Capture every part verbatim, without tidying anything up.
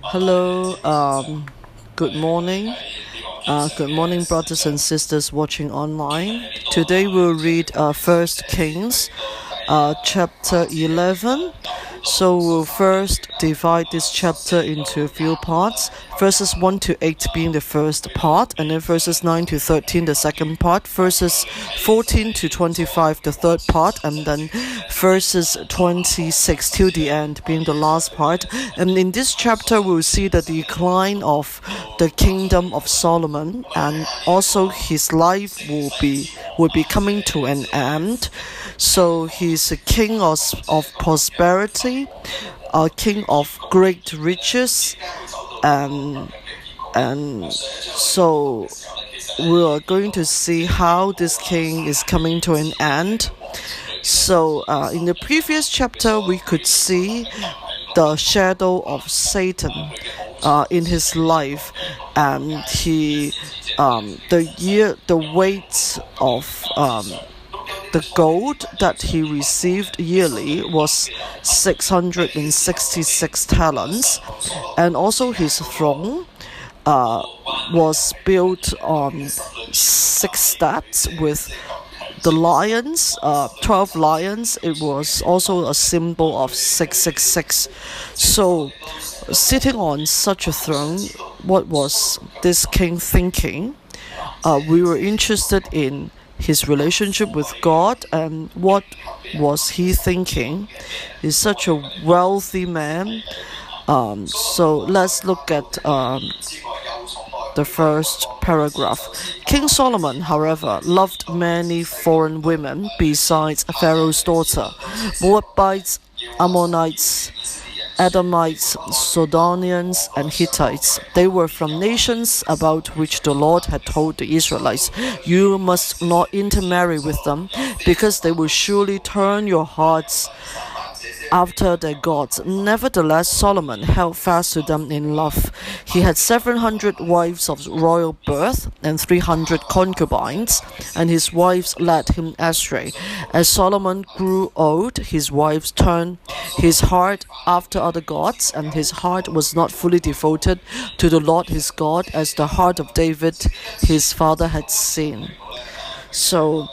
Hello, um, good morning. Uh, good morning, brothers and sisters watching online. Today we'll read uh, First Kings, uh, chapter eleven. So we'll first divide this chapter into a few parts. Verses one to eight being the first part, and then verses nine to thirteen the second part, verses fourteen to twenty-five the third part, and then verses twenty-six till the end being the last part. And in this chapter we'll see the decline of the kingdom of Solomon, and also his life will be will be coming to an end. So he's a king of, of prosperity, a king of great riches, and and so we are going to see how this king is coming to an end. So uh, in the previous chapter we could see the shadow of Satan uh, in his life, and he um, the year the weight of um, the gold that he received yearly was six hundred sixty-six talents, and also his throne uh, was built on six steps with the lions, uh, twelve lions. It was also a symbol of six six six. So, sitting on such a throne, what was this king thinking? Uh, we were interested in his relationship with God, and what was he thinking? He's such a wealthy man. Um, so let's look at um, the first paragraph. King Solomon, however, loved many foreign women besides Pharaoh's daughter, Moabites, Ammonites, Edomites, Sidonians, and Hittites. They were from nations about which the Lord had told the Israelites, "You must not intermarry with them, because they will surely turn your hearts after their gods." Nevertheless, Solomon held fast to them in love. He had seven hundred wives of royal birth and three hundred concubines, and his wives led him astray. As Solomon grew old, his wives turned his heart after other gods, and his heart was not fully devoted to the Lord his God, as the heart of David his father had seen. So,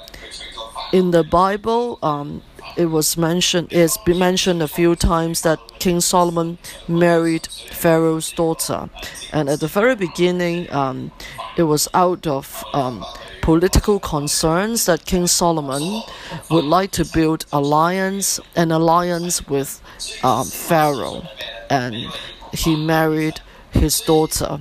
in the Bible, um, it was mentioned, it's been mentioned a few times that King Solomon married Pharaoh's daughter. And at the very beginning, um, it was out of um, political concerns that King Solomon would like to build alliance, an alliance with um, Pharaoh. And he married his daughter.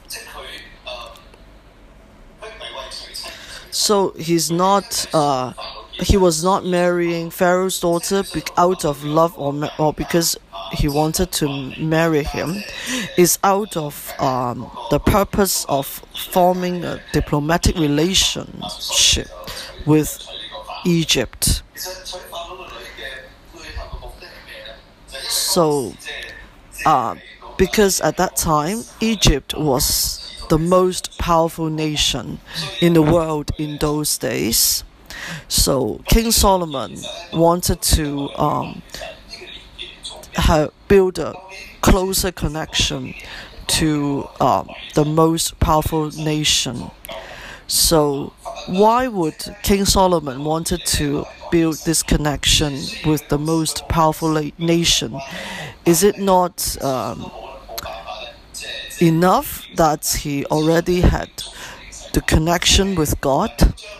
So he's not... Uh, He was not marrying Pharaoh's daughter out of love or or because he wanted to marry him. It's out of um, the purpose of forming a diplomatic relationship with Egypt. So, uh, because at that time, Egypt was the most powerful nation in the world in those days. So King Solomon wanted to um, have, build a closer connection to um, the most powerful nation. So why would King Solomon wanted to build this connection with the most powerful nation? Is it not um, enough that he already had the connection with God?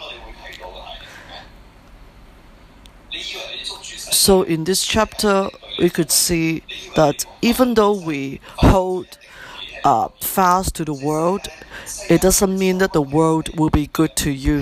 So in this chapter, we could see that even though we hold uh, fast to the world, it doesn't mean that the world will be good to you.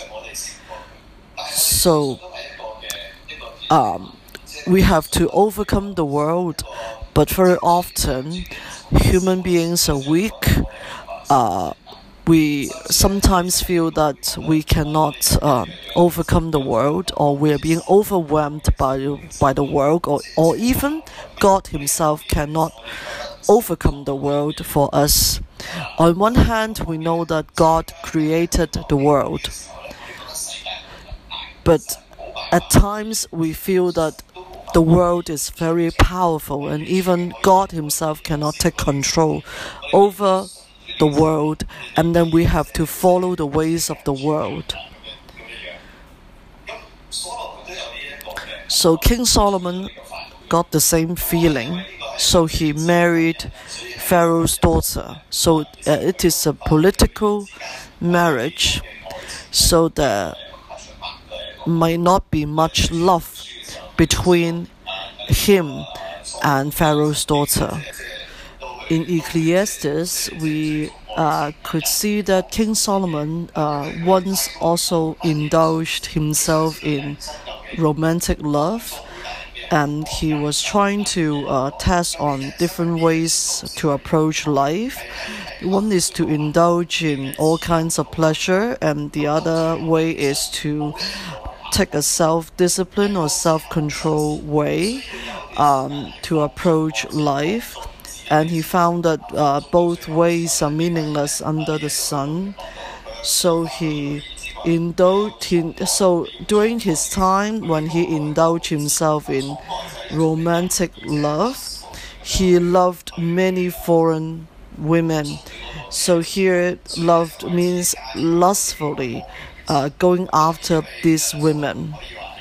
So um, we have to overcome the world, but very often human beings are weak. Uh, we sometimes feel that we cannot uh, overcome the world, or we are being overwhelmed by, by the world, or, or even God himself cannot overcome the world for us. On one hand, we know that God created the world, but at times we feel that the world is very powerful, and even God Himself cannot take control over the world, and then we have to follow the ways of the world. So King Solomon got the same feeling, so he married Pharaoh's daughter. So uh, it is a political marriage, so there might not be much love between him and Pharaoh's daughter. In Ecclesiastes, we uh, could see that King Solomon uh, once also indulged himself in romantic love, and he was trying to uh, test on different ways to approach life. One is to indulge in all kinds of pleasure, and the other way is to take a self-discipline or self-control way um, to approach life. And he found that uh, both ways are meaningless under the sun. So he indulged. In, so during his time when he indulged himself in romantic love, he loved many foreign women. So here, loved means lustfully uh, going after these women.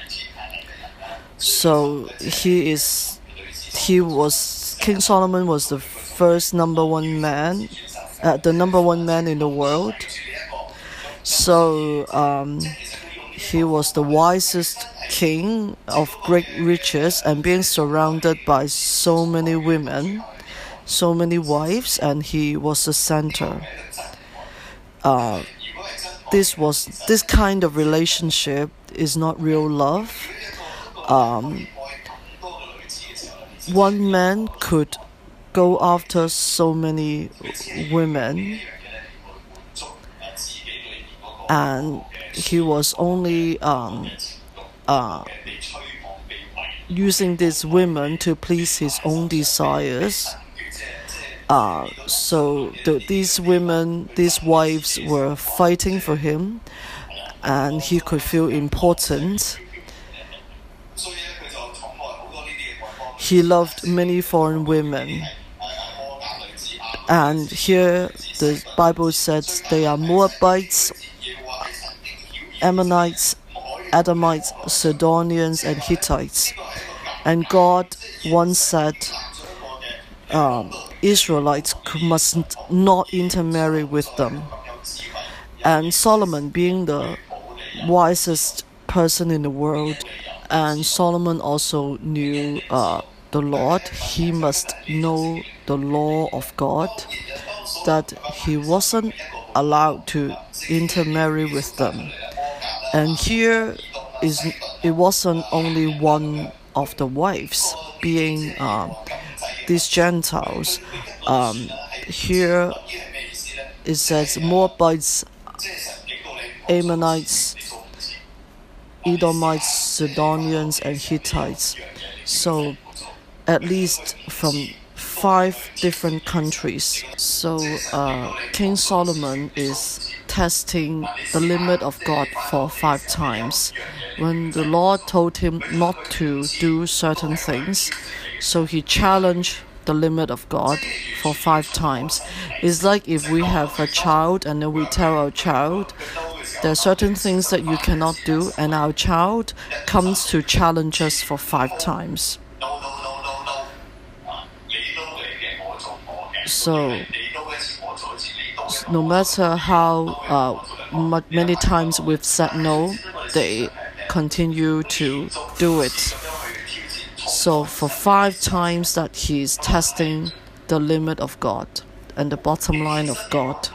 So he is. He was. King Solomon was the first number one man, uh, the number one man in the world. So um, he was the wisest king of great riches, and being surrounded by so many women, so many wives, and he was the center. Uh, this was this kind of relationship is not real love. Um, One man could go after so many women, and he was only um, uh, using these women to please his own desires. Uh, so the, these women, these wives were fighting for him, and he could feel important. He loved many foreign women. And here the Bible says they are Moabites, Ammonites, Edomites, Sidonians, and Hittites. And God once said um, Israelites must not intermarry with them. And Solomon, being the wisest person in the world, and Solomon also knew uh, the Lord. He must know the law of God, that he wasn't allowed to intermarry with them. And here is it wasn't only one of the wives being uh, these Gentiles. Um, here it says Moabites, Ammonites, Edomites, Sidonians, and Hittites. So at least from five different countries. So uh, King Solomon is testing the limit of God for five times. When the Lord told him not to do certain things, so he challenged the limit of God for five times. It's like if we have a child and then we tell our child, there are certain things that you cannot do, and our child comes to challenge us for five times. So, no matter how uh, many times we've said no, they continue to do it. So, for five times that he's testing the limit of God and the bottom line of God.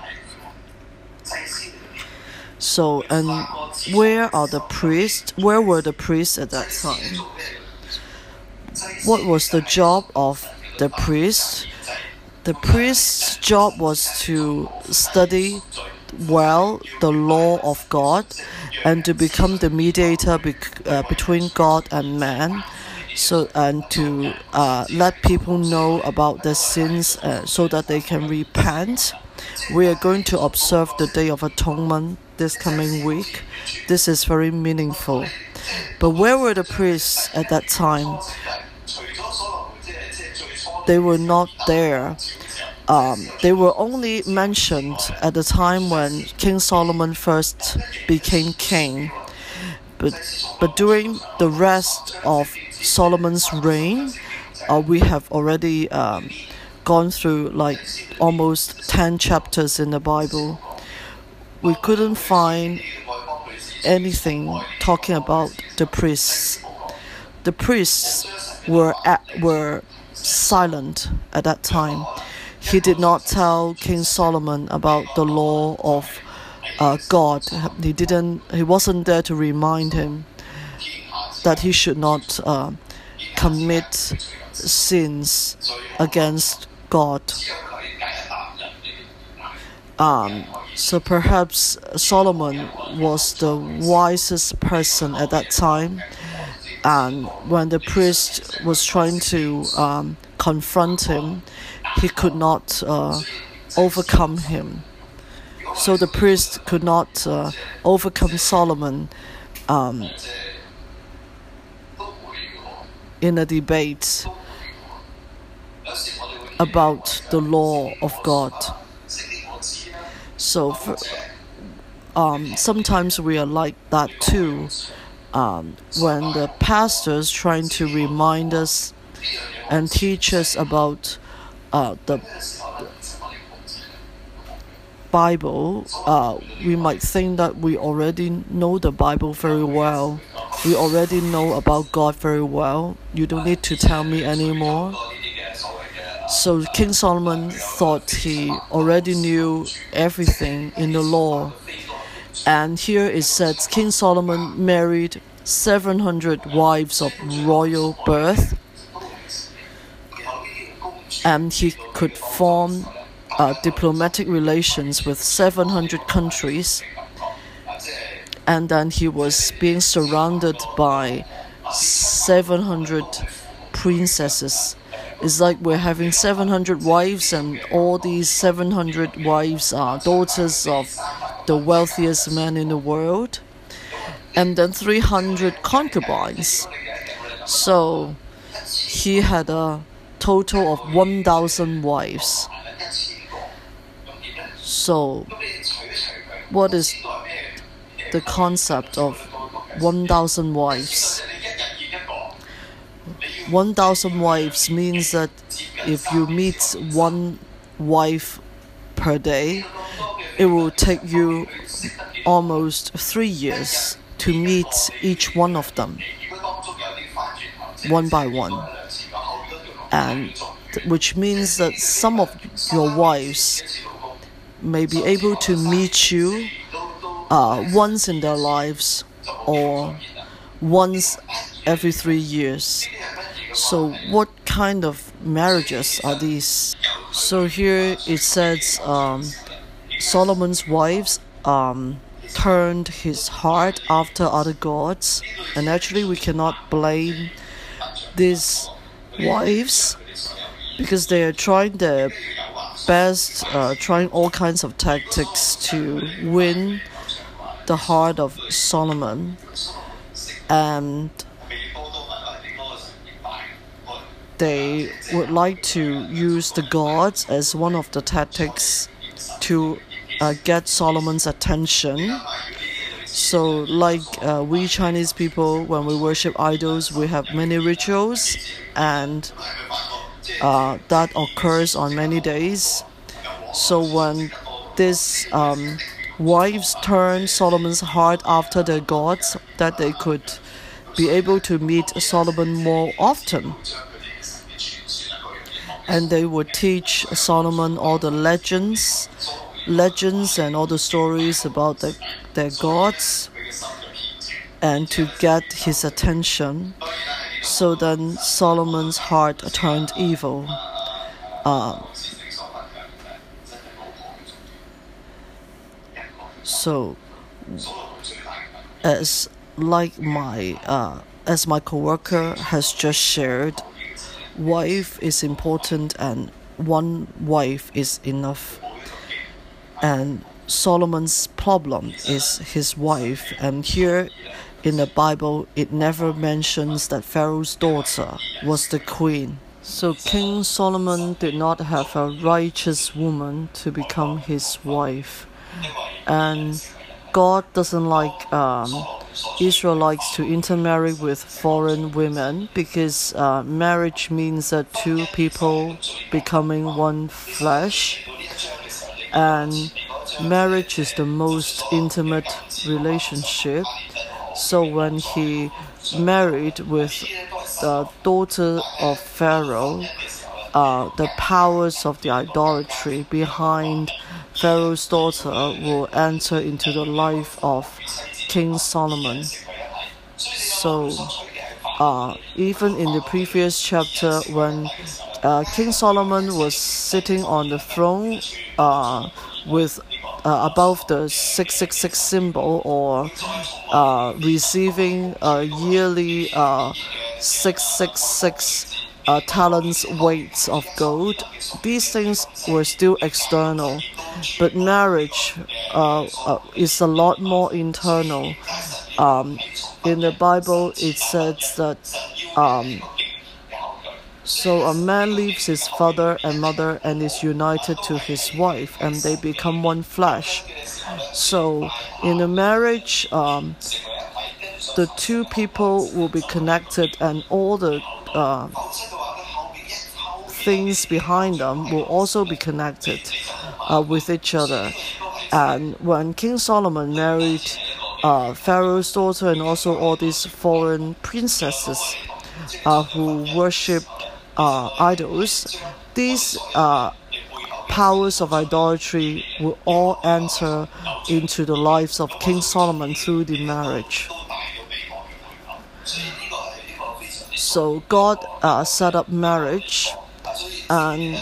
So, and where are the priests? Where were the priests at that time? What was the job of the priests? The priest's job was to study well the law of God and to become the mediator be- uh, between God and man. So and to uh, let people know about their sins uh, so that they can repent. We are going to observe the Day of Atonement this coming week. This is very meaningful. But where were the priests at that time? They were not there. Um, they were only mentioned at the time when King Solomon first became king. But, but during the rest of Solomon's reign, uh, we have already um, gone through like almost ten chapters in the Bible. We couldn't find anything talking about the priests. The priests were at, were silent at that time. He did not tell King Solomon about the law of uh, God. He didn't. He wasn't there to remind him that he should not uh, commit sins against God. Um, so perhaps Solomon was the wisest person at that time, and when the priest was trying to um, confront him, he could not uh, overcome him. So the priest could not uh, overcome Solomon um, in a debate about the law of God. So for, um, sometimes we are like that too. Um, when the pastors trying to remind us and teach us about uh, the Bible, uh, we might think that we already know the Bible very well. We already know about God very well. You don't need to tell me anymore. So King Solomon thought he already knew everything in the law. And here it says King Solomon married seven hundred wives of royal birth, and he could form uh, diplomatic relations with seven hundred countries. And then he was being surrounded by seven hundred princesses. It's like we're having seven hundred wives, and all these seven hundred wives are daughters of the wealthiest man in the world, and then three hundred concubines. So he had a total of one thousand wives. So what is the concept of one thousand wives? one thousand wives means that if you meet one wife per day, it will take you almost three years to meet each one of them, one by one. And which means that some of your wives may be able to meet you uh, once in their lives or once every three years. So what kind of marriages are these? So here it says um, Solomon's wives um, turned his heart after other gods, and actually we cannot blame these wives because they are trying their best, uh, trying all kinds of tactics to win the heart of Solomon, and they would like to use the gods as one of the tactics to uh, get Solomon's attention. So like uh, we Chinese people, when we worship idols, we have many rituals, and uh, that occurs on many days. So when these um, wives turn Solomon's heart after their gods, that they could be able to meet Solomon more often. And they would teach Solomon all the legends, legends and all the stories about the, their gods, and to get his attention. So then Solomon's heart turned evil. Uh, so, as like my uh, as my coworker has just shared, wife is important and one wife is enough. And Solomon's problem is his wife, and here in the Bible, it never mentions that Pharaoh's daughter was the queen. So King Solomon did not have a righteous woman to become his wife. And God doesn't like um, Israelites to intermarry with foreign women, because uh, marriage means that two people becoming one flesh. And marriage is the most intimate relationship. So when he married with the daughter of Pharaoh, uh, the powers of the idolatry behind Pharaoh's daughter will enter into the life of King Solomon. So uh, even in the previous chapter, when uh, King Solomon was sitting on the throne uh, with uh, above the six six six symbol, or uh, receiving a yearly uh, six six six Uh, talents weights of gold, these things were still external. But marriage uh, uh, is a lot more internal. Um, in the Bible, it says that um, so a man leaves his father and mother and is united to his wife, and they become one flesh. So in a marriage, um, the two people will be connected, and all the uh, things behind them will also be connected uh, with each other. And when King Solomon married uh, Pharaoh's daughter and also all these foreign princesses uh, who worship uh, idols, these uh, powers of idolatry will all enter into the lives of King Solomon through the marriage. So God uh, set up marriage, and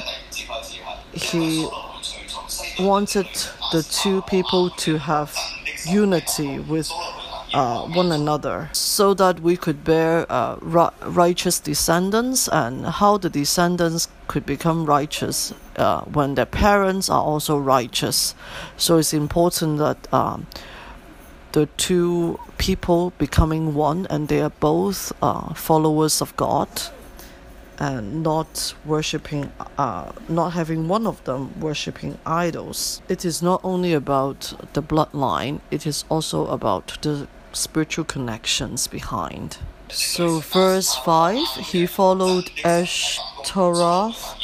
he wanted the two people to have unity with uh, one another, so that we could bear uh, righteous descendants, and how the descendants could become righteous uh, when their parents are also righteous. So it's important that um, the two people becoming one, and they are both uh, followers of God, and not worshipping, uh, not having one of them worshipping idols. It is not only about the bloodline, it is also about the spiritual connections behind. So verse five, he followed Ashtaroth,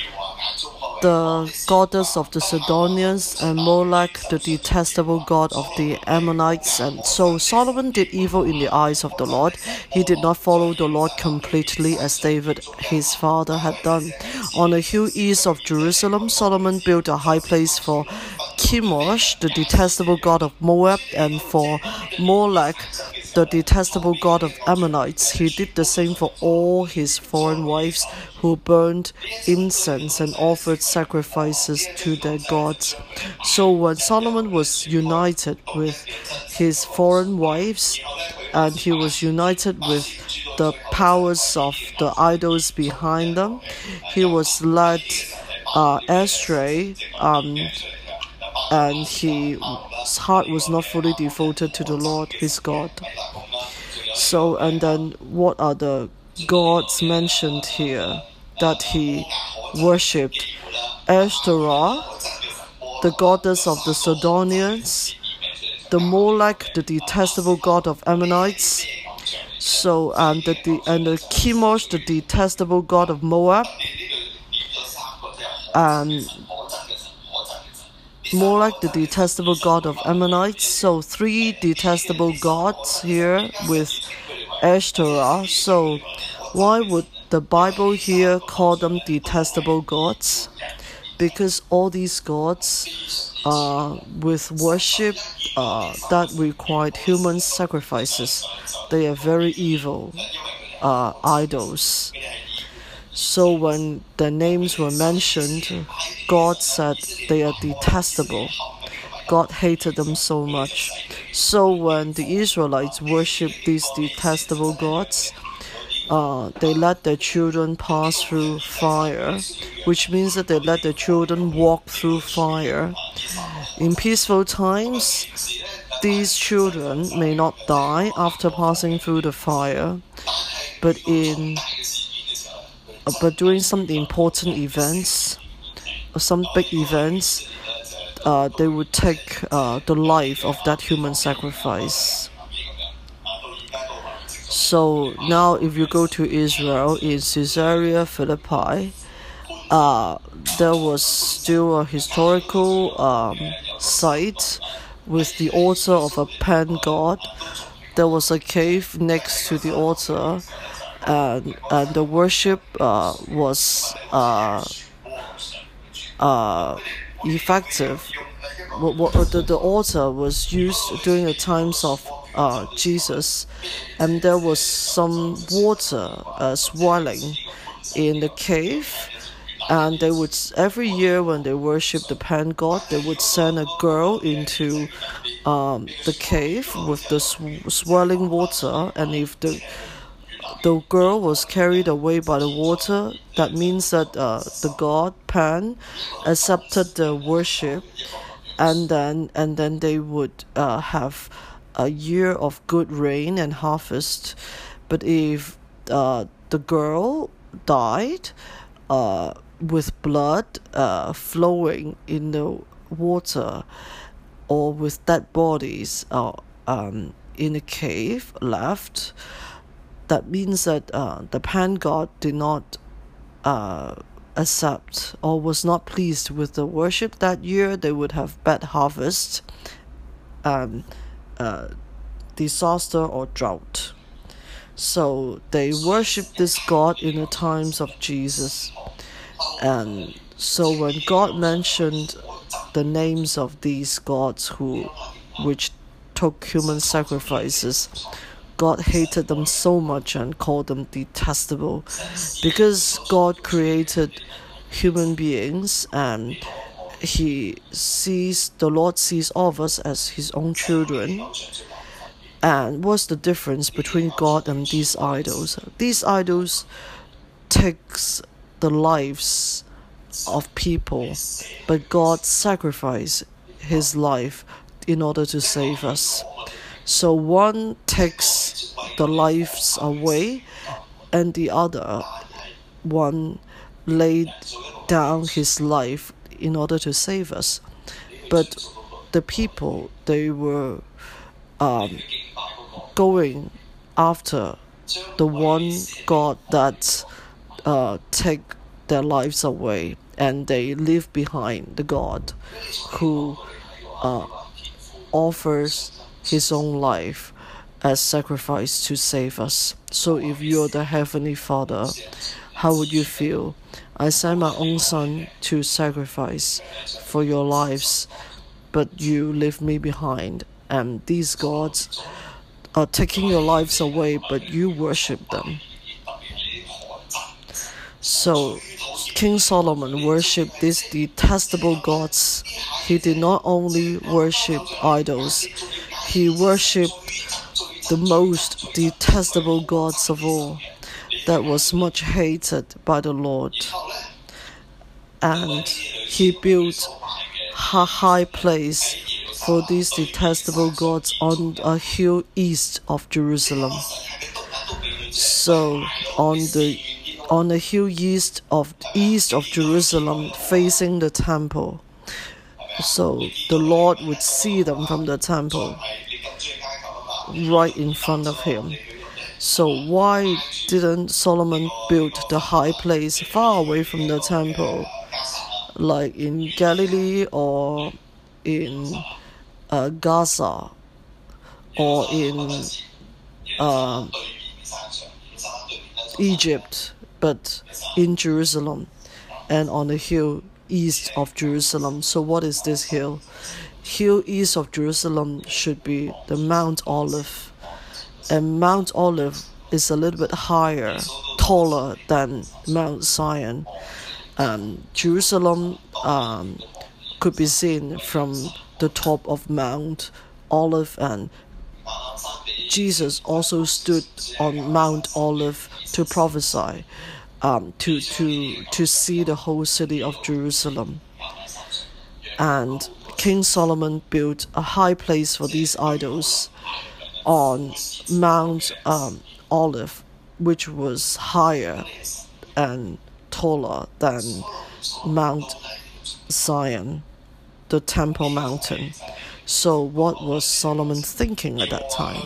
the goddess of the Sidonians, and Molech, the detestable god of the Ammonites. And so Solomon did evil in the eyes of the Lord. He did not follow the Lord completely, as David his father had done. On a hill east of Jerusalem, Solomon built a high place for Chemosh, the detestable god of Moab, and for Molech, the detestable god of Ammonites. He did the same for all his foreign wives, who burned incense and offered sacrifices to their gods. So when Solomon was united with his foreign wives, and he was united with the powers of the idols behind them, he was led uh, astray, um, and his heart was not fully devoted to the Lord his God. So, and then what are the gods mentioned here that he worshipped? Ashtaroth, the goddess of the Sidonians, the Molech, the detestable god of Ammonites, so and the, the and the Chemosh, the detestable god of Moab, and Molech, the detestable god of Ammonites. So three detestable gods here with Ashtaroth. So why would the Bible here call them detestable gods? Because all these gods uh, with worship uh, that required human sacrifices, they are very evil uh, idols. So when their names were mentioned, God said they are detestable. God hated them so much. So when the Israelites worshipped these detestable gods, uh, they let their children pass through fire, which means that they let their children walk through fire. In peaceful times, these children may not die after passing through the fire, but in uh, but during some important events, or some big events, uh, they would take uh, the life of that human sacrifice. So now if you go to Israel, in Caesarea Philippi, uh, there was still a historical um, site with the altar of a pan god. There was a cave next to the altar, and, and the worship uh, was uh, uh, effective. What, what, the, the altar was used during the times of uh, Jesus, and there was some water uh, swelling in the cave, and they would, every year when they worship the pan god, they would send a girl into um, the cave with the sw- swelling water, and if the the girl was carried away by the water, that means that uh, the god Pan accepted the worship, and then and then they would uh, have a year of good rain and harvest. But if uh, the girl died uh, with blood uh, flowing in the water, or with dead bodies uh, um, in a cave left, that means that uh, the pan god did not uh, accept or was not pleased with the worship that year. They would have bad harvest, um, uh, disaster or drought. So they worshiped this god in the times of Jesus. And so when God mentioned the names of these gods who which took human sacrifices, God hated them so much and called them detestable, because God created human beings, and he sees the Lord sees all of us as his own children. And what's the difference between God and these idols? These idols takes the lives of people, but God sacrificed his life in order to save us. So one takes the lives away, and the other one laid down his life in order to save us. But the people, they were um, going after the one God that uh, take their lives away, and they leave behind the God who uh, offers his own life as sacrifice to save us. So if you're the Heavenly Father, how would you feel? I sent my own son to sacrifice for your lives, but you leave me behind, and these gods are taking your lives away, but you worship them. So King Solomon worshipped these detestable gods. He did not only worship idols, he worshipped the most detestable gods of all, that was much hated by the Lord. And he built a high place for these detestable gods on a hill east of Jerusalem. So on the on the hill east of east of Jerusalem, facing the temple, so the Lord would see them from the temple, right in front of him. So why didn't Solomon build the high place far away from the temple, like in Galilee or in uh, Gaza or in uh, Egypt, but in Jerusalem and on the hill east of Jerusalem? So what is this hill? Hill east of Jerusalem should be the Mount Olive, and Mount Olive is a little bit higher, taller than Mount Zion. Um, Jerusalem um, could be seen from the top of Mount Olive, and Jesus also stood on Mount Olive to prophesy, um, to, to, to see the whole city of Jerusalem. And King Solomon built a high place for these idols on Mount um, Olive, which was higher and taller than Mount Zion, the Temple Mountain. So what was Solomon thinking at that time?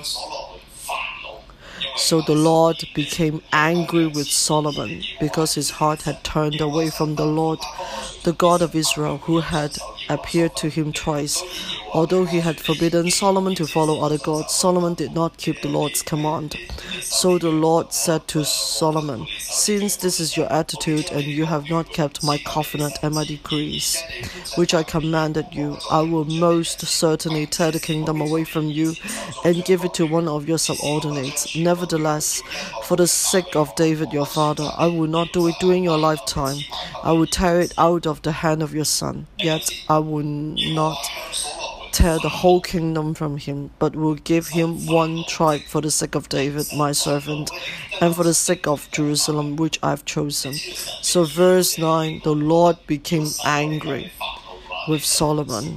So the Lord became angry with Solomon because his heart had turned away from the Lord, the God of Israel, who had appeared to him twice. Although he had forbidden Solomon to follow other gods, Solomon did not keep the Lord's command. So the Lord said to Solomon, "Since this is your attitude, and you have not kept my covenant and my decrees, which I commanded you, I will most certainly tear the kingdom away from you and give it to one of your subordinates. Nevertheless, for the sake of David your father, I will not do it during your lifetime. I will tear it out of the hand of your son. Yet I will not tear the whole kingdom from him, but will give him one tribe for the sake of David my servant, and for the sake of Jerusalem which I have chosen." So verse nine, the Lord became angry with Solomon.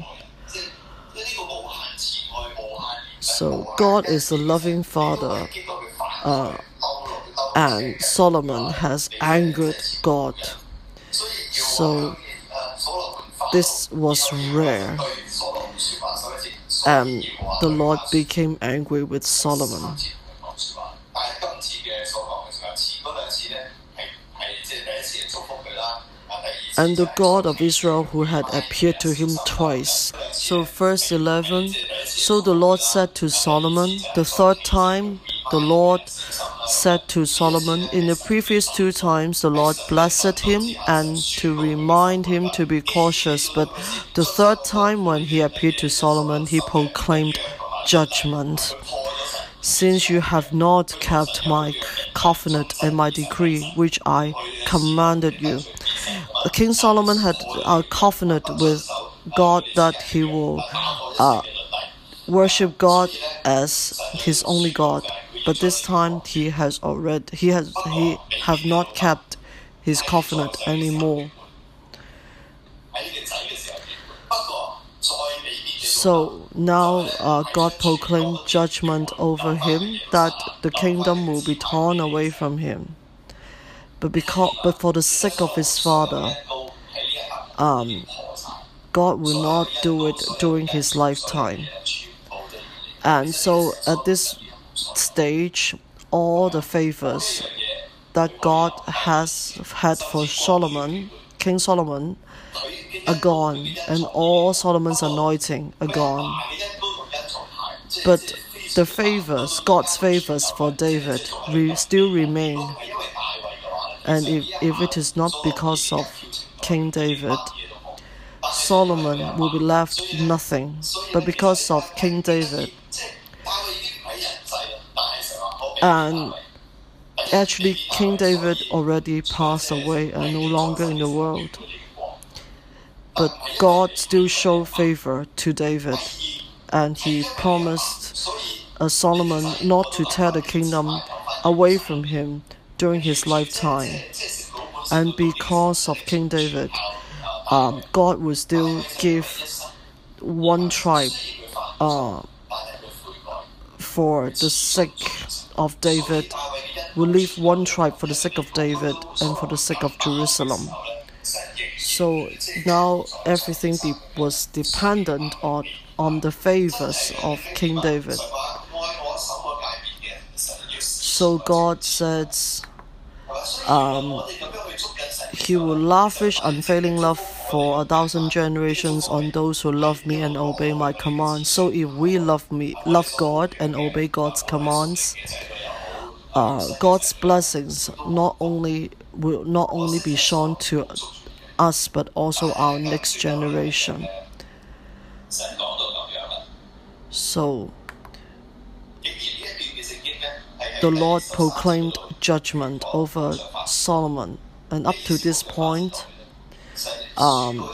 So God is a loving father, uh, and Solomon has angered God. So this was rare, and the Lord became angry with Solomon. And the God of Israel who had appeared to him twice. So verse eleven, so the Lord said to Solomon, the third time the Lord said to Solomon, in the previous two times the Lord blessed him and to remind him to be cautious, but the third time when he appeared to Solomon, he proclaimed judgment. Since you have not kept my covenant and my decree, which I commanded you. King Solomon had a covenant with God that he will uh, worship God as his only God. But this time he has already he has he have not kept his covenant anymore. So now uh, God proclaimed judgment over him, that the kingdom will be torn away from him. But because but for the sake of his father, um, God will not do it during his lifetime. And so at this stage, all the favors that God has had for Solomon, King Solomon, are gone, and all Solomon's anointing are gone. But the favors, God's favors for David, re still remain. And if, if it is not because of King David, Solomon will be left nothing. But because of King David, and actually King David already passed away and no longer in the world. But God still showed favor to David, and he promised uh, Solomon not to tear the kingdom away from him during his lifetime. And because of King David, um, God will still give one tribe uh, for the sake of David, will leave one tribe for the sake of David and for the sake of Jerusalem. So now everything de was dependent on, on the favors of King David. So God says um, he will lavish unfailing love for a thousand generations on those who love me and obey my commands. So if we love me, love God and obey God's commands, uh, God's blessings not only will not only be shown to us, but also our next generation. So the Lord proclaimed judgment over Solomon, and up to this point, um,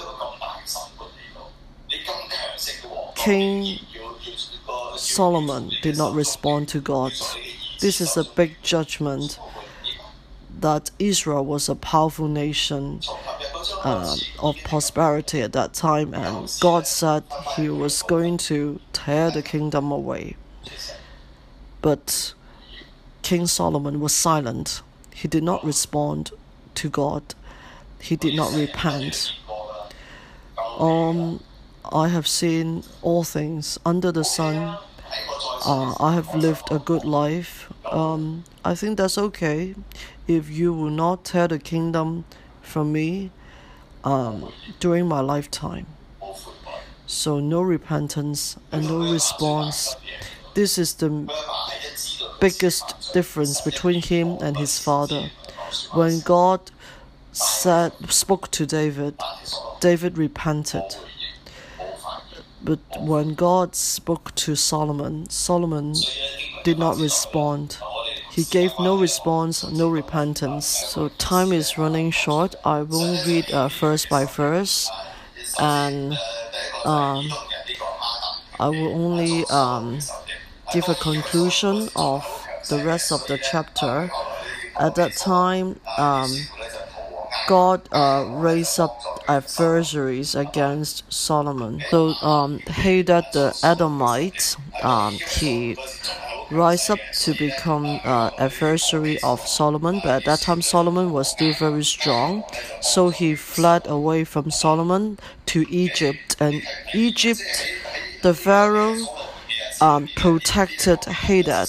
King Solomon did not respond to God. This is a big judgment that Israel was a powerful nation, uh, of prosperity at that time, and God said he was going to tear the kingdom away. But King Solomon was silent. He did not respond to God. He did not repent. Um, I have seen all things under the sun. Uh, I have lived a good life. Um, I think that's okay if you will not tear the kingdom from me um, during my lifetime. So no repentance and no response. This is the biggest difference between him and his father. When God said, spoke to David, David repented. But when God spoke to Solomon, Solomon did not respond. He gave no response, no repentance. So time is running short. I won't read uh, verse by verse, and um, I will only um, give a conclusion of the rest of the chapter. At that time, um, God uh, raised up adversaries against Solomon. So um, Hadad the Edomite, um, he rise up to become uh, adversary of Solomon, but at that time Solomon was still very strong, so he fled away from Solomon to Egypt, and Egypt, the Pharaoh um, protected Hadad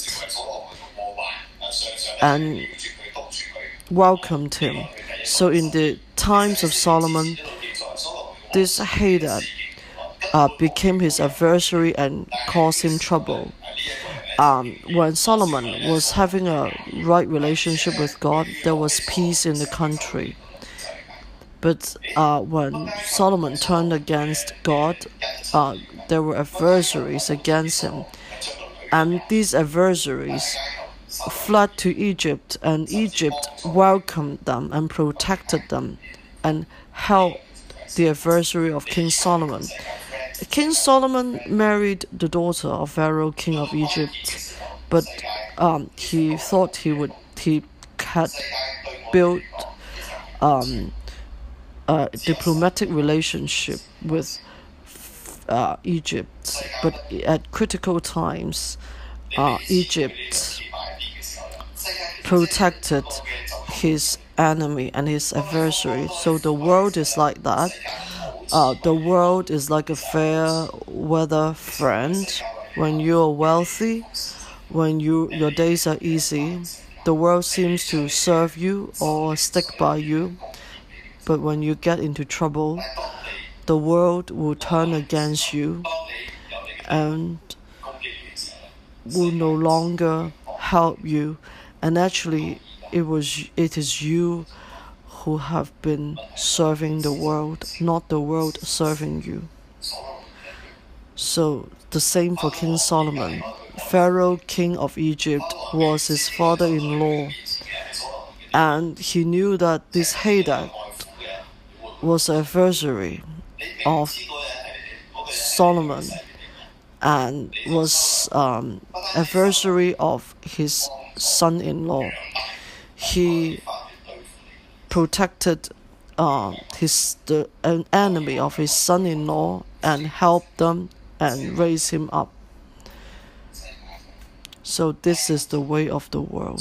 and welcomed him. So in the times of Solomon, this Hadad uh, became his adversary and caused him trouble. Um, when Solomon was having a right relationship with God, there was peace in the country. But uh, when Solomon turned against God, uh, there were adversaries against him. And these adversaries fled to Egypt, and Egypt welcomed them and protected them and helped the adversary of King Solomon. King Solomon married the daughter of Pharaoh, king of Egypt, but um, he thought he would he had built um, a diplomatic relationship with uh, Egypt, but at critical times, uh, Egypt protected his enemy and his adversary. So the world is like that. Uh, the world is like a fair weather friend. When you are wealthy, when you your days are easy, the world seems to serve you or stick by you. But when you get into trouble, the world will turn against you and will no longer help you. And actually, it was it is you who have been serving the world, not the world serving you. So the same for King Solomon. Pharaoh, king of Egypt, was his father-in-law, and he knew that this Hadad was an adversary of Solomon and was um, adversary of his son-in-law. He protected uh, his the an enemy of his son-in-law and helped them and raised him up. So this is the way of the world.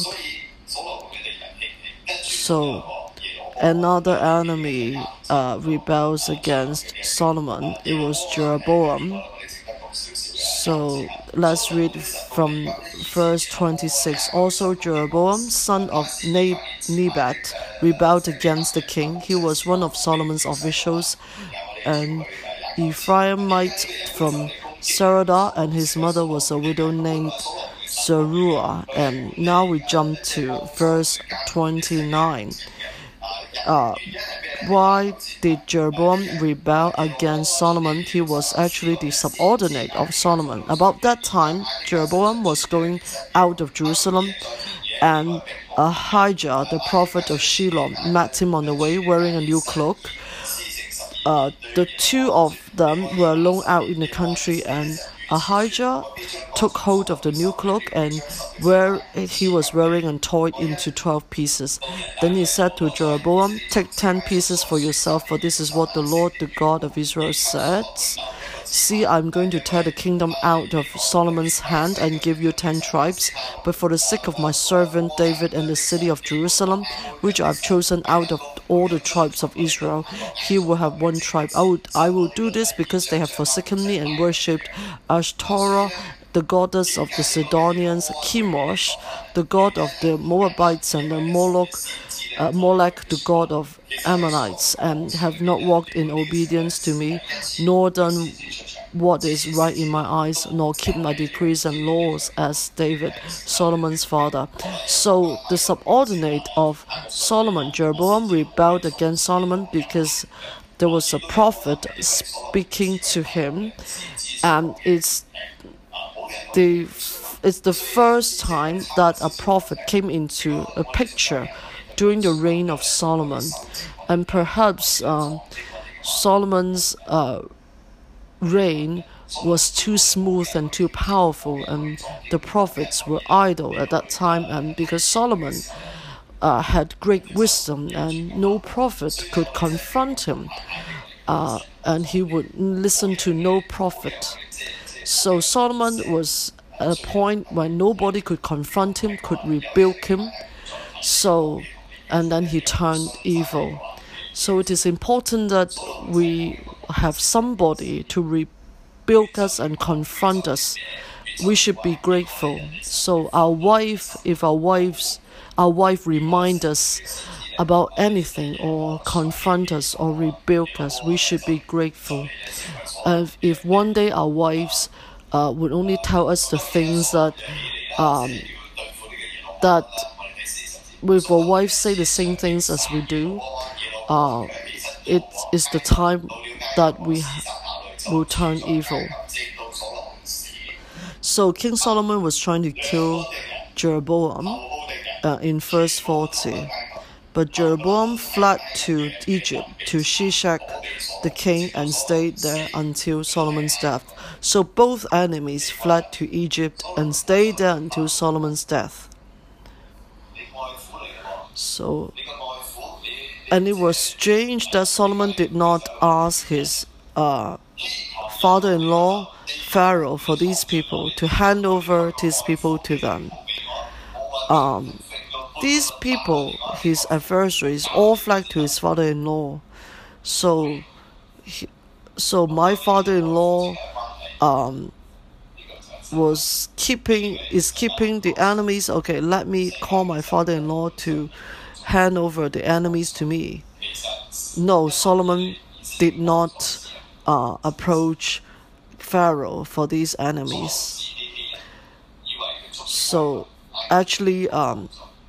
So another enemy uh, rebels against Solomon. It was Jeroboam. So let's read from verse twenty-six. Also Jeroboam, son of Nebat, rebelled against the king. He was one of Solomon's officials, an Ephraimite from Saradah, and his mother was a widow named Zeruah. And now we jump to verse twenty-nine. Uh, why did Jeroboam rebel against Solomon? He was actually the subordinate of Solomon. About that time, Jeroboam was going out of Jerusalem, and Ahijah, the prophet of Shiloh, met him on the way wearing a new cloak. Uh, the two of them were alone out in the country, and Ahijah took hold of the new cloak, and where he was wearing and tore it into twelve pieces. Then he said to Jeroboam, "Take ten pieces for yourself, for this is what the Lord, the God of Israel, says. See, I am going to tear the kingdom out of Solomon's hand and give you ten tribes. But for the sake of my servant David and the city of Jerusalem, which I have chosen out of all the tribes of Israel, he will have one tribe. I will, I will do this because they have forsaken me and worshipped Ashtoreth, the goddess of the Sidonians, Chemosh, the god of the Moabites, and the Moloch, uh, Molech, the god of Ammonites, and have not walked in obedience to me, nor done what is right in my eyes, nor keep my decrees and laws as David, Solomon's father." So the subordinate of Solomon, Jeroboam, rebelled against Solomon because there was a prophet speaking to him, and it's the it's the first time that a prophet came into a picture during the reign of Solomon, and perhaps um, Solomon's uh, reign was too smooth and too powerful, and the prophets were idle at that time, and because Solomon uh, had great wisdom and no prophet could confront him, uh, and he would listen to no prophet. So Solomon was at a point when nobody could confront him, could rebuke him. So, and then he turned evil. So it is important that we have somebody to rebuke us and confront us. We should be grateful. So our wife, if our wives, our wife remind us about anything or confront us or rebuke us, we should be grateful. Uh, if one day our wives uh, would only tell us the things that um, that if our wives say the same things as we do, uh, it is the time that we will turn evil. So King Solomon was trying to kill Jeroboam uh, in verse forty. But Jeroboam fled to Egypt, to Shishak the king, and stayed there until Solomon's death. So both enemies fled to Egypt and stayed there until Solomon's death. So, and it was strange that Solomon did not ask his uh, father-in-law, Pharaoh, for these people, to hand over these people to them. Um, These people, his adversaries, all fled to his father-in-law. So, he, so my father-in-law um, was keeping is keeping the enemies. Okay, let me call my father-in-law to hand over the enemies to me. No, Solomon did not uh, approach Pharaoh for these enemies. So, actually, um.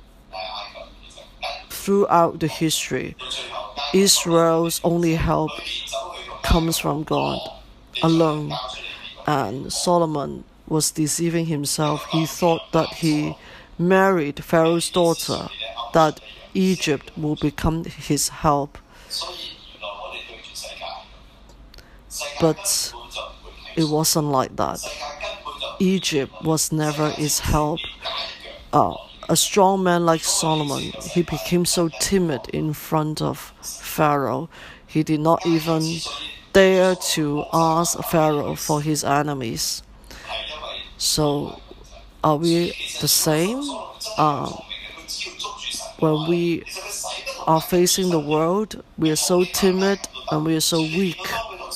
Throughout the history, Israel's only help comes from God alone, and Solomon was deceiving himself. He thought that he married Pharaoh's daughter, that Egypt will become his help. But it wasn't like that. Egypt was never his help. Uh, A strong man like Solomon, he became so timid in front of Pharaoh. He did not even dare to ask Pharaoh for his enemies. So, are we the same? Uh, when we are facing the world, we are so timid and we are so weak.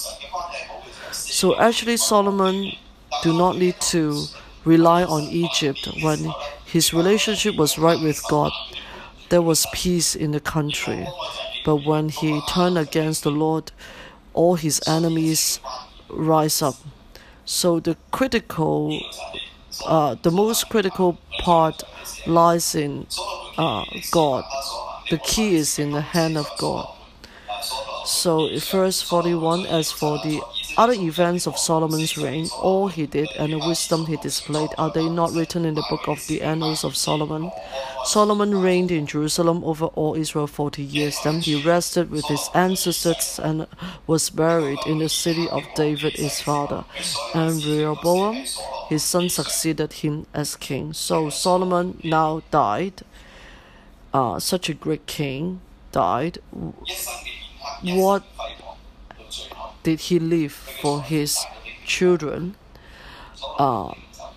So actually, Solomon do not need to rely on Egypt. When his relationship was right with God, there was peace in the country. But when he turned against the Lord, all his enemies rise up. So the critical, uh, the most critical part lies in uh, God. The key is in the hand of God. So verse forty-one, as for the other events of Solomon's reign, all he did and the wisdom he displayed, are they not written in the book of the annals of Solomon? Solomon reigned in Jerusalem over all Israel forty years. Then he rested with his ancestors and was buried in the city of David his father. And Rehoboam his son succeeded him as king. So Solomon now died. Uh, such a great king died. What did he leave for his children? Uh,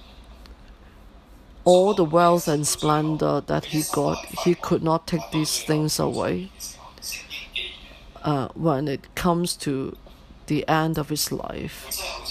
all the wealth and splendor that he got, he could not take these things away. Uh, when it comes to the end of his life,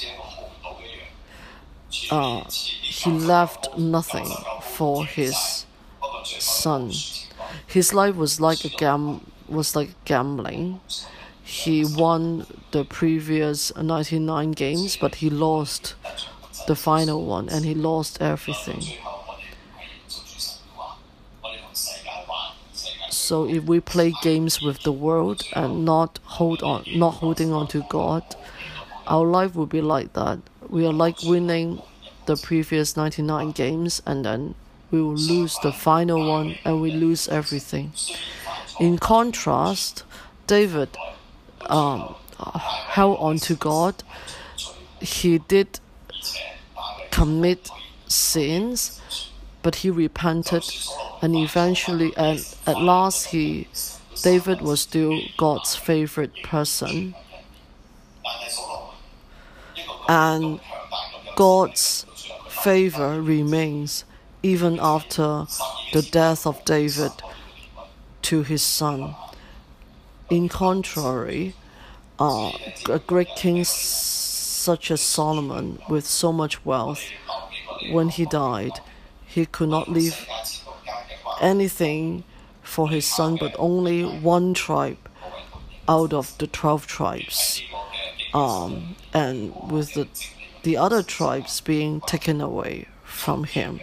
uh, he left nothing for his son. His life was like a gam was like gambling. He won the previous ninety-nine games, but he lost the final one, and he lost everything. So if we play games with the world and not hold on, not holding on to God, our life will be like that. We are like winning the previous ninety-nine games, and then we will lose the final one, and we lose everything. In contrast, David um, held on to God. He did commit sins, but he repented, and eventually, and at last, he, David was still God's favorite person, and God's favor remains even after the death of David to his son. In contrary, uh, a great king such as Solomon, with so much wealth, when he died, he could not leave anything for his son, but only one tribe out of the twelve tribes, um, and with the, the other tribes being taken away from him.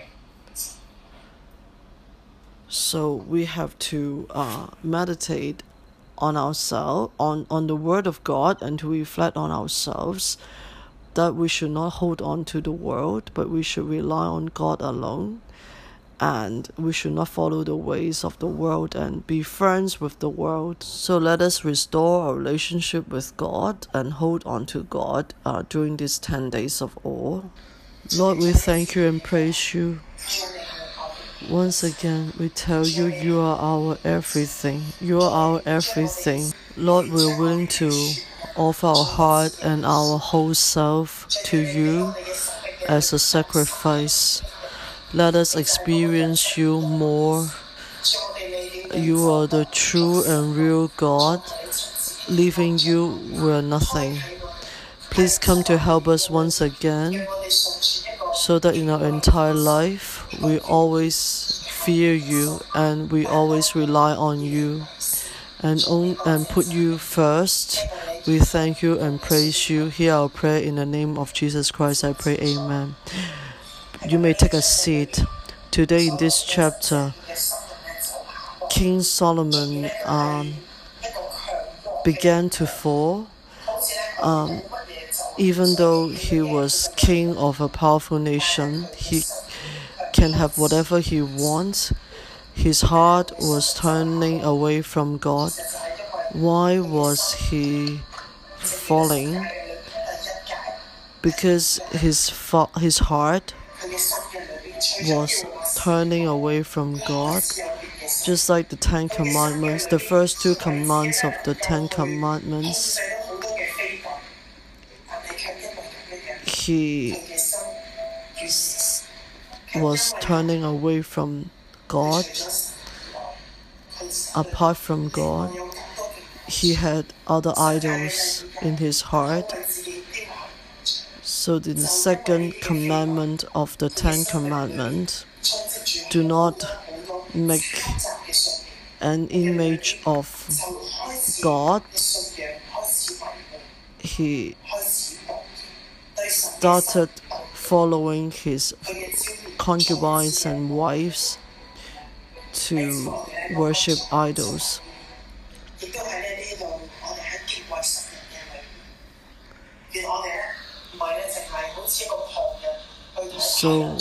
So we have to uh, meditate on ourselves, on, on the Word of God, and to reflect on ourselves, that we should not hold on to the world, but we should rely on God alone, and we should not follow the ways of the world and be friends with the world. So let us restore our relationship with God and hold on to God uh, during these ten days of awe. Lord, we thank you and praise you. Once again, we tell you, you are our everything. You are our everything. Lord, we're willing to offer our heart and our whole self to you as a sacrifice. Let us experience you more. You are the true and real God. Leaving you, we're nothing. Please come to help us once again, so that in our entire life, we always fear you and we always rely on you and, on, and put you first. We thank you and praise you. Hear our prayer in the name of Jesus Christ, I pray, amen. You may take a seat. Today in this chapter, King Solomon um, began to fall. Um, even though he was king of a powerful nation, he can have whatever he wants. His heart was turning away from God. Why was he falling? Because his fa- his heart was turning away from God. Just like the Ten Commandments, the first two commands of the Ten Commandments, he was turning away from God. Apart from God, he had other idols in his heart. So the second commandment of the Ten Commandments, do not make an image of God. He started following his concubines and wives to worship idols. So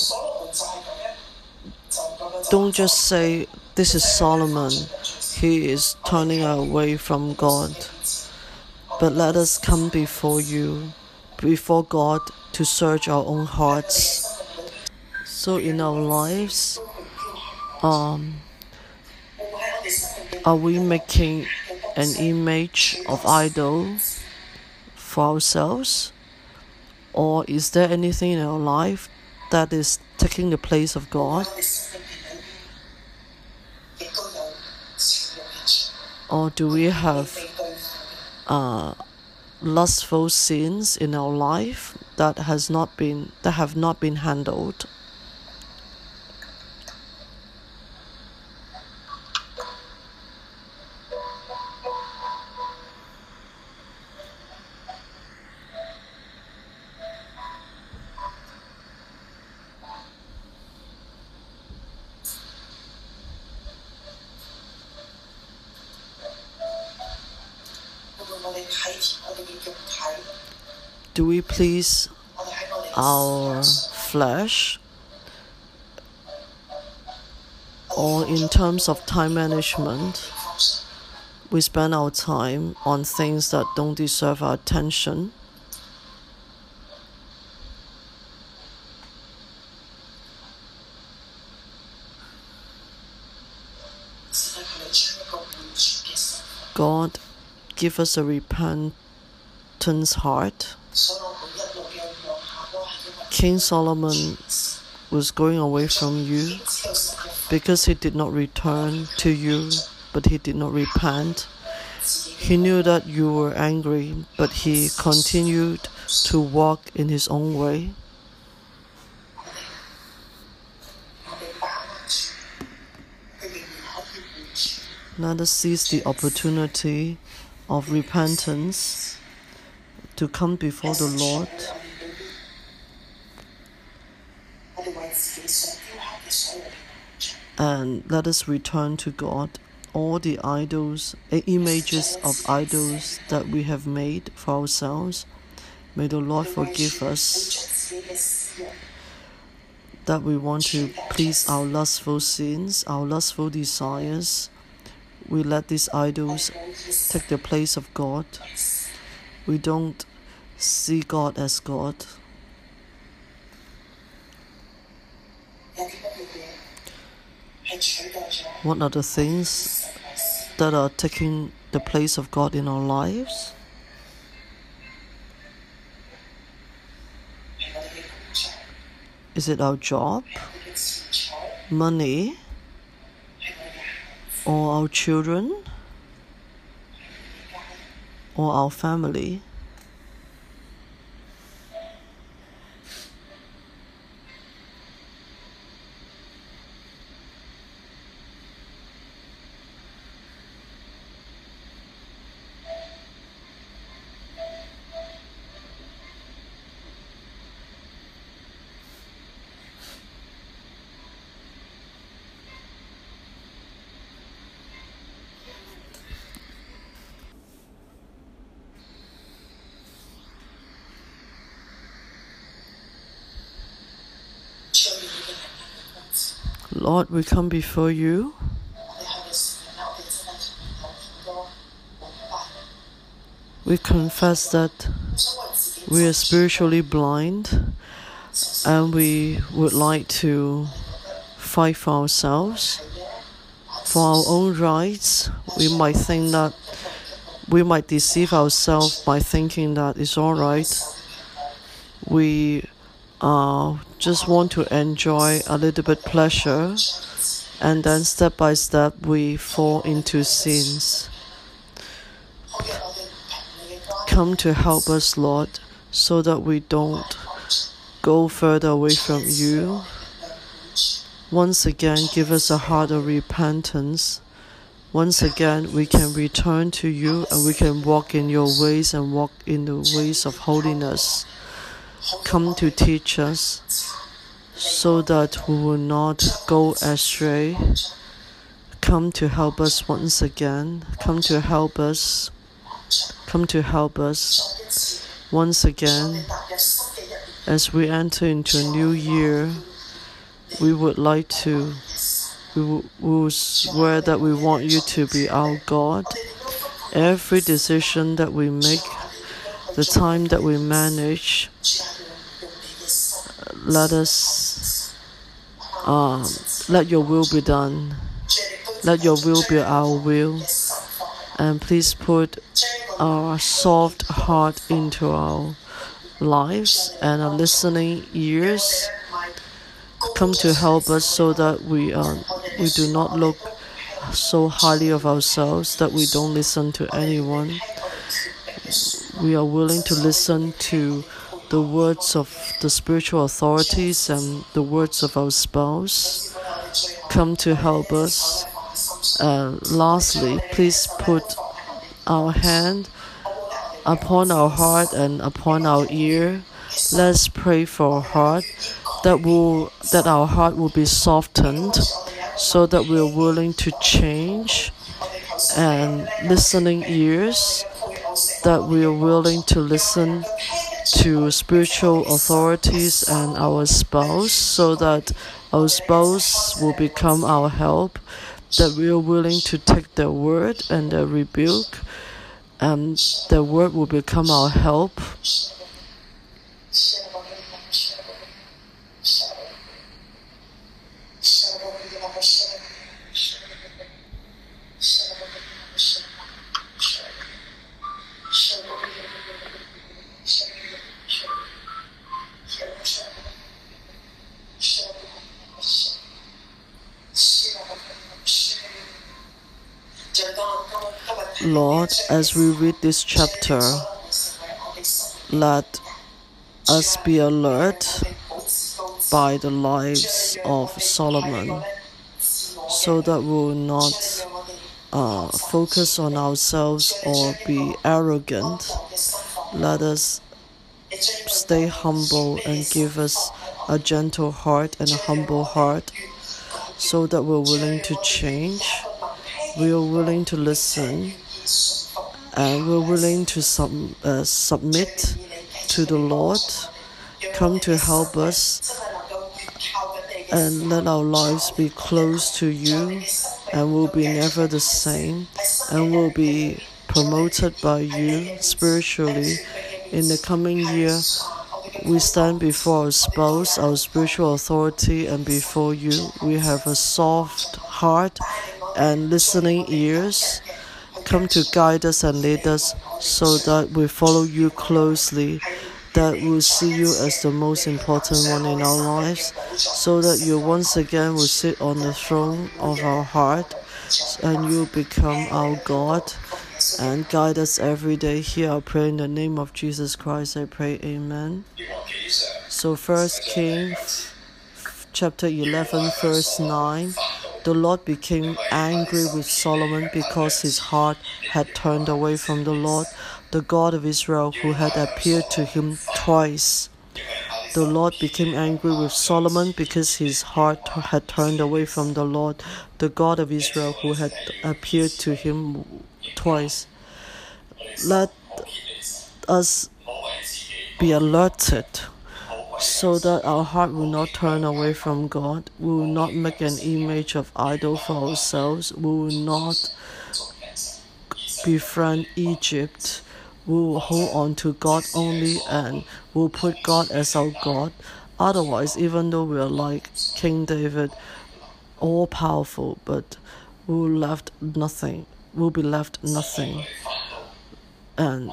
don't just say, this is Solomon, he is turning away from God. But let us come before you, before God, to search our own hearts. So in our lives, um, are we making an image of idol for ourselves? Or is there anything in our life that is taking the place of God? Or do we have uh, lustful sins in our life that has not been that have not been handled? Do we please our flesh? Or in terms of time management, we spend our time on things that don't deserve our attention? God, give us a repentance heart. King Solomon was going away from you because he did not return to you, but he did not repent. He knew that you were angry, but he continued to walk in his own way. Let us seize the opportunity of repentance to come before the Lord and let us return to God all the idols, images of idols that we have made for ourselves. May the Lord forgive us that we want to please our lustful sins, our lustful desires. We let these idols take the place of God. We don't see God as God. What are the things that are taking the place of God in our lives? Is it our job, money, or our children, or our family? Lord, we come before you. We confess that we are spiritually blind and we would like to fight for ourselves, for our own rights. We might think that we might deceive ourselves by thinking that it's all right. We uh, just want to enjoy a little bit pleasure, and then step by step we fall into sins. Come to help us, Lord, so that we don't go further away from you. Once again, give us a heart of repentance. Once again, we can return to you and we can walk in your ways and walk in the ways of holiness. Come to teach us so that we will not go astray. Come to help us once again. Come to help us. Come to help us Once again, as we enter into a new year, we would like to, we will swear that we want you to be our God. Every decision that we make, the time that we manage, let us, um, let your will be done. Let your will be our will. And please put our soft heart into our lives and our listening ears. Come to help us so that we uh, we do not look so highly of ourselves that we don't listen to anyone. We are willing to listen to the words of the spiritual authorities and the words of our spouse. Come to help us. Uh, lastly, please put our hand upon our heart and upon our ear. Let's pray for our heart, that will that our heart will be softened, so that we are willing to change, and listening ears, that we are willing to listen to spiritual authorities and our spouse, so that our spouse will become our help, that we are willing to take their word and their rebuke, and their word will become our help. Lord, as we read this chapter, let us be alert by the lives of Solomon, so that we will not uh, focus on ourselves or be arrogant. Let us stay humble and give us a gentle heart and a humble heart, so that we're willing to change, we are willing to listen, and we're willing to sub, uh, submit to the Lord. Come to help us, and let our lives be close to you, and we'll be never the same, and we'll be promoted by you spiritually. In the coming year, we stand before our spouse, our spiritual authority, and before you. We have a soft heart and listening ears. Come to guide us and lead us, so that we follow you closely, that we'll see you as the most important one in our lives, so that you once again will sit on the throne of our heart, and you become our God, and guide us every day. Hear our prayer in the name of Jesus Christ, I pray, amen. So First Kings chapter eleven verse nine, the Lord became angry with Solomon because his heart had turned away from the Lord, the God of Israel, who had appeared to him twice. The Lord became angry with Solomon because his heart had turned away from the Lord, the God of Israel, who had appeared to him twice. Let us be alerted, so that our heart will not turn away from God. We will not make an image of idol for ourselves. We will not befriend Egypt. We will hold on to God only, and we will put God as our God. Otherwise, even though we are like King David, all powerful, but we will left nothing. We will be left nothing. And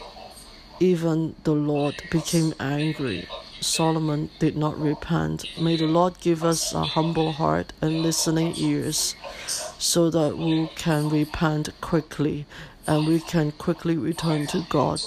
even the Lord became angry. Solomon did not repent. May the Lord give us a humble heart and listening ears, so that we can repent quickly, and we can quickly return to God,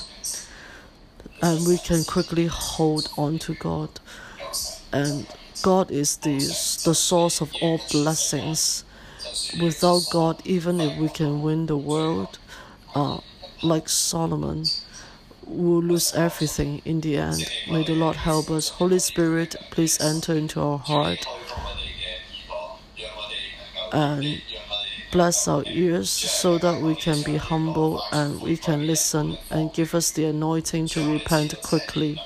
and we can quickly hold on to God. And God is the, the source of all blessings. Without God, even if we can win the world, uh, like Solomon, we'll lose everything in the end. May the Lord help us. Holy Spirit, please enter into our heart and bless our ears so that we can be humble and we can listen, and give us the anointing to repent quickly.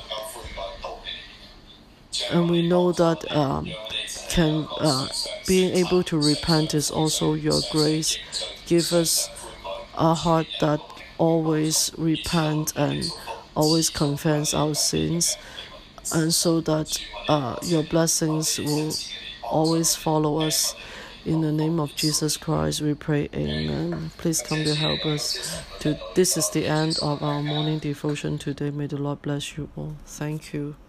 And we know that um, can uh, being able to repent is also your grace. Give us a heart that always repent and always confess our sins, and so that uh, your blessings will always follow us. In the name of Jesus Christ, we pray, amen. Please come to help us. To, this is the end of our morning devotion today. May the Lord bless you all. Thank you.